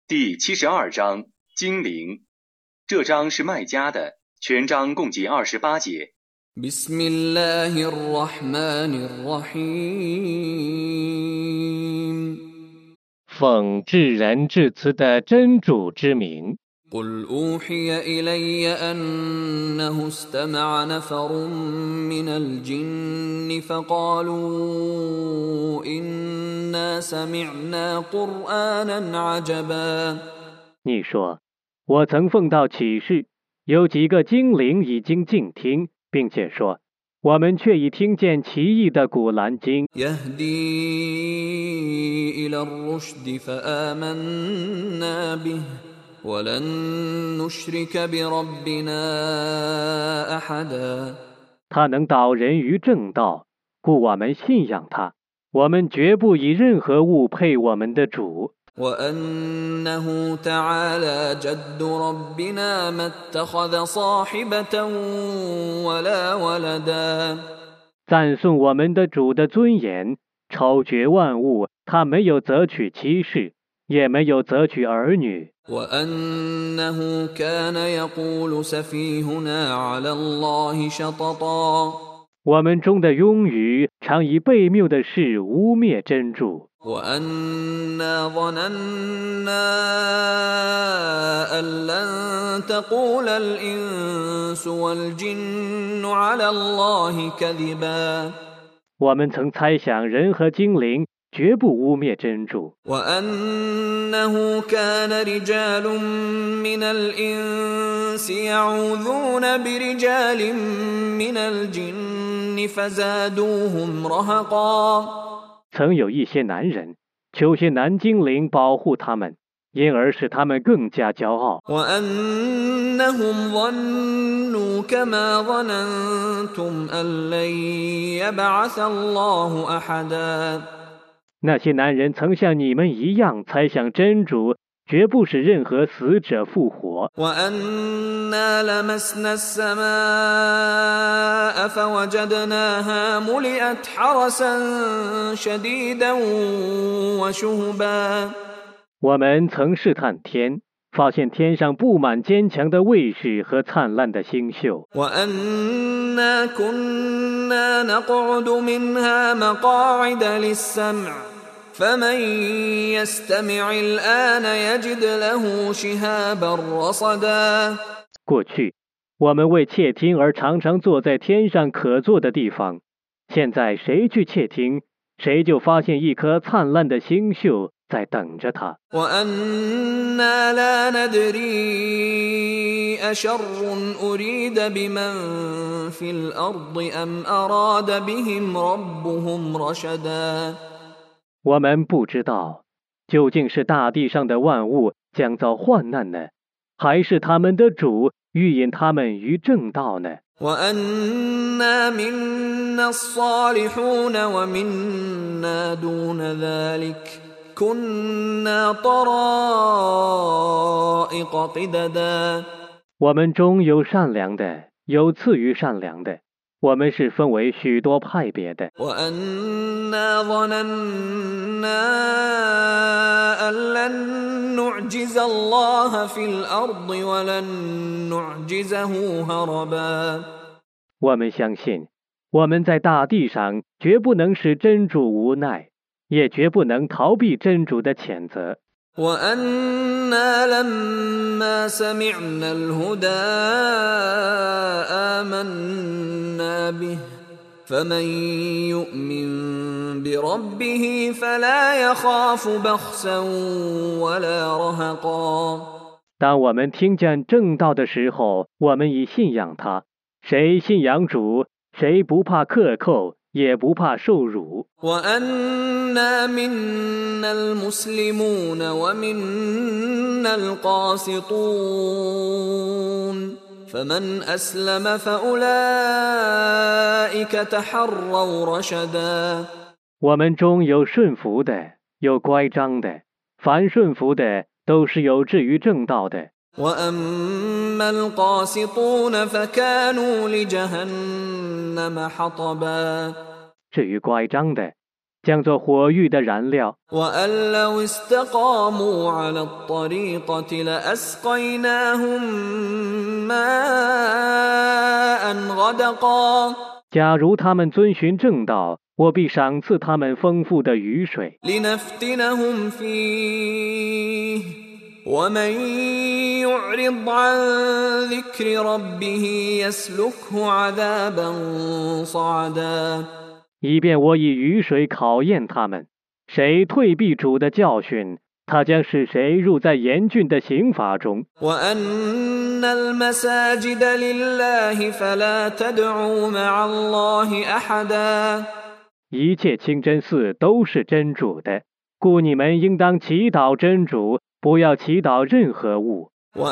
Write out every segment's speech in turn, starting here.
第72章精灵。这章是麦加的，全章共计28节。 بسم الله الرحمن الرحيم 奉至仁至慈的真主之名。 قل أوحي إلي أنه استمع نفر من الجن فقالوا إنا سمعنا قرآنا عجبا 你说，我曾奉到启示，有几个精灵已经静听，并且说，我们却已听见奇异的古兰经。 يهدي إلى الرشد فآمنا به ولن نشرك بربنا أحدا 他能导人于正道，故我们信仰他，我们绝不以任何物配我们的主。 وأنه تعالى جد ربنا ما اتخذ صاحبة ولا ولدا 赞颂我们的主的尊严，超绝万物，他没有择取妻室，也没有择取儿女。 وأنه كان يقول سفيهنا على الله شططا 我们中的庸愚常以悖谬的事污蔑真主。 وأنا ظننا أن لن تقول الإنس والجن على الله كذبا 我们曾猜想人和精灵绝不污蔑真主。 وأنه كان رجال من الإنس يعوذون برجال من الجن فزادوهم رهقا 曾有一些男人求些男精灵保护他们，因而使他们更加骄傲。 وأنهم ظنوا كما ظننتم أن لن يبعث الله أحدا 那些男人曾像你们一样猜想真主绝不使任何死者复活。 وأنا لمسنا السماء فوجدناها ملئت حرسا شديدا وشهبا 我们曾试探天，发现天上布满坚强的卫士和灿烂的星宿。 وأنا كنا نقعد منها مقاعد للسمع فمن يستمع الآن يجد له شهابا رصدا 过去，我们为窃听而常常坐在天上可坐的地方，现在谁去窃听，谁就发现一颗灿烂的星宿在等着他。 وأنا لا ندري أشر أريد بمن في الأرض أم أراد بهم ربهم رشدا 我们不知道，究竟是大地上的万物将遭患难呢，还是他们的主欲引他们于正道呢？ وأنا منا الصالحون ومنا دون ذلك كنا طرائق قددا 我们中有善良的，有次于善良的，我们是分为许多派别的。 وأنا ظننا أن لن نعجز الله في الأرض ولن نعجزه هربا 我们相信，我们在大地上绝不能使真主无奈，也绝不能逃避真主的谴责。 وأنا لما سمعنا الهدى آمنا به فمن يؤمن بربه فلا يخاف بخسا ولا رهقا 当我们听见正道的时候，我们已信仰他。谁信仰主，谁不怕克扣，也不怕受辱。 وأنا منا المسلمون ومنا القاسطون فمن أسلم فأولئك تحروا رشدا 我们中有顺服的，有乖张的，凡顺服的都是有志于正道的。 وأما القاسطون فكانوا لجهنم حطبا 至于乖张的， 将做火域的燃料。 وأن لو استقاموا على الطريقة لأسقيناهم ماء غدقا 假如他们遵循正道，我必赏赐他们丰富的雨水， لنفتنهم فيه ومن يعرض عن ذكر ربه يسلكه عذابا صعدا 以便我以雨水考验他们。谁退避主的教训，他将使谁入在严峻的刑罚中。 وأن المساجد لله فلا تدعوا مع الله أحدا 一切清真寺都是真主的，故你们应当祈祷真主，不要祈祷任何物。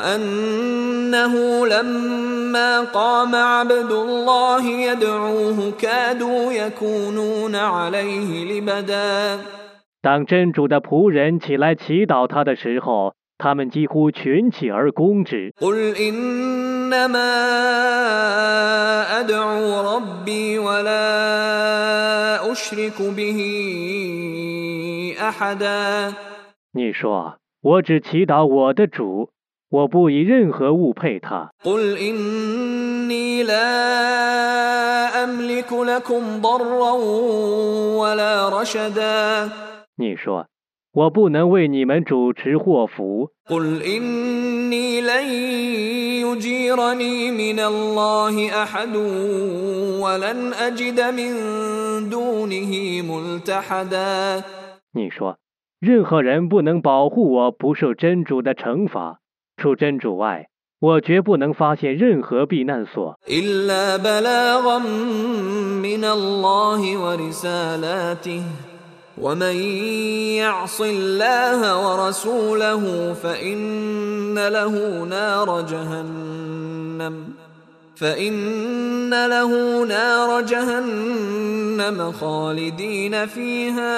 وأنه لما قام عبد الله يدعوه كادوا يكونون عليه لبدا 当真主的仆人起来祈祷他的时候，他们几乎群起而攻之。 قل إنما أدعو ربي ولا أشرك به أحدا 你说，我只祈祷我的主，我不以任何物配他。 قل إني لا أملك لكم ضرا ولا رشدا 你说，我不能为你们主持祸福。 قل إني لن يجيرني من الله أحد ولن أجد من دونه ملتحدا 你说，任何人不能保护我不受真主的惩罚，除真主外，我绝不能发现任何避难所。 إلا بلاغا من الله ورسالاته ومن يعص الله ورسوله فإن له نار جهنم خالدين فيها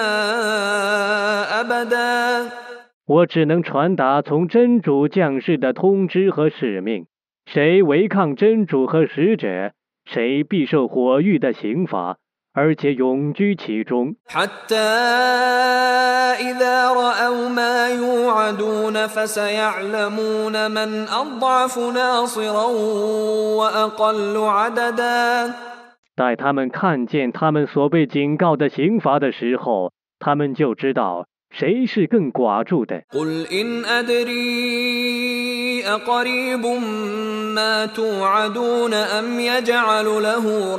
أبدا 我只能传达从真主降世的通知和使命。谁违抗真主和使者，谁必受火狱的刑罚，而且永居其中。 حتى إذا رأوا ما يوعدون فسيعلمون من أضعف ناصرا وأقل عددا 待他们看见他们所被警告的刑罚的时候，他们就知道谁是更寡助的。 قل إن أدري أقريب ما توعدون أم يجعل له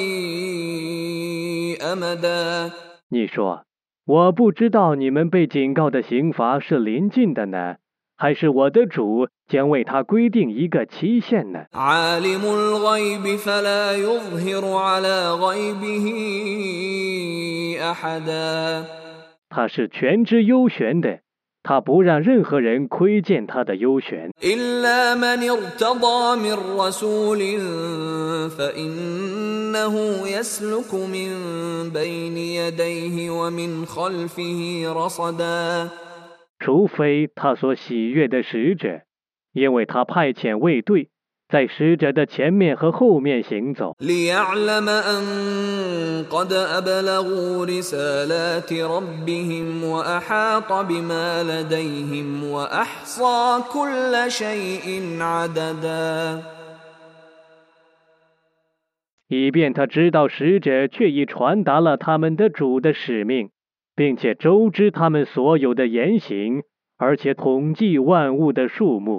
ربي أمدا 你说，我不知道你们被警告的刑罚是临近的呢，还是我的主将为他规定一个期限呢？ عالم الغيب فلا يظهر على غيبه أحدا 他是全知幽玄的，他不让任何人窥见他的幽玄。 إلا من ارتضى من رسول فإنه يسلك من بين يديه ومن خلفه رصدا 除非他所喜悦的使者，因为他派遣卫队，在使者的前面和后面行走， ليعلم أن قد أبلغوا رسالات ربهم وأحاط بما لديهم وأحصى كل شيء عددا 以便他知道使者却已传达了他们的主的使命，并且周知他们所有的言行，而且统计万物的数目。